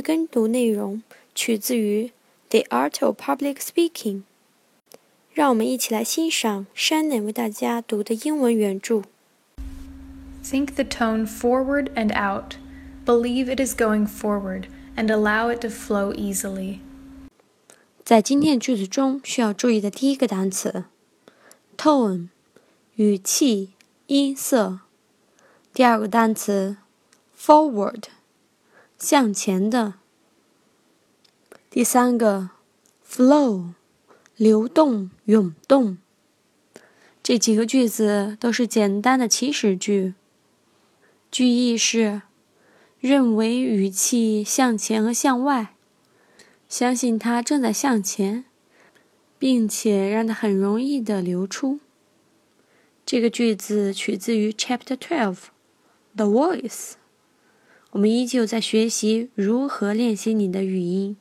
跟读内容取自于《The Art of Public Speaking》。让我们一起来欣赏 Shannon 为大家读的英文原著。 Think the tone forward and out. Believe it is going forward and allow it to flow easily. 在今天的句子中需要注意的第一个单词 tone 语气音色，第二个单词 forward 向前的，第三个 flow 流动涌动。这几个句子都是简单的祈使句，句意是认为语气向前和向外，相信它正在向前，并且让它很容易地流出。这个句子取自于 Chapter 12 The Voice。 我们依旧在学习如何练习你的语音。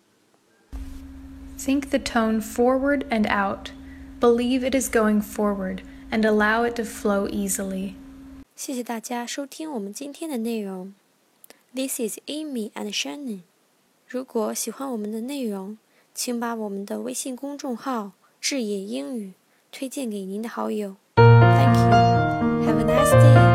Think the tone forward and out. Believe it is going forward and allow it to flow easily. 谢谢大家收听我们今天的内容。This is Amy and Shannon。 如果喜欢我们的内容，请把我们的微信公众号智野英语推荐给您的好友。Thank you. Have a nice day.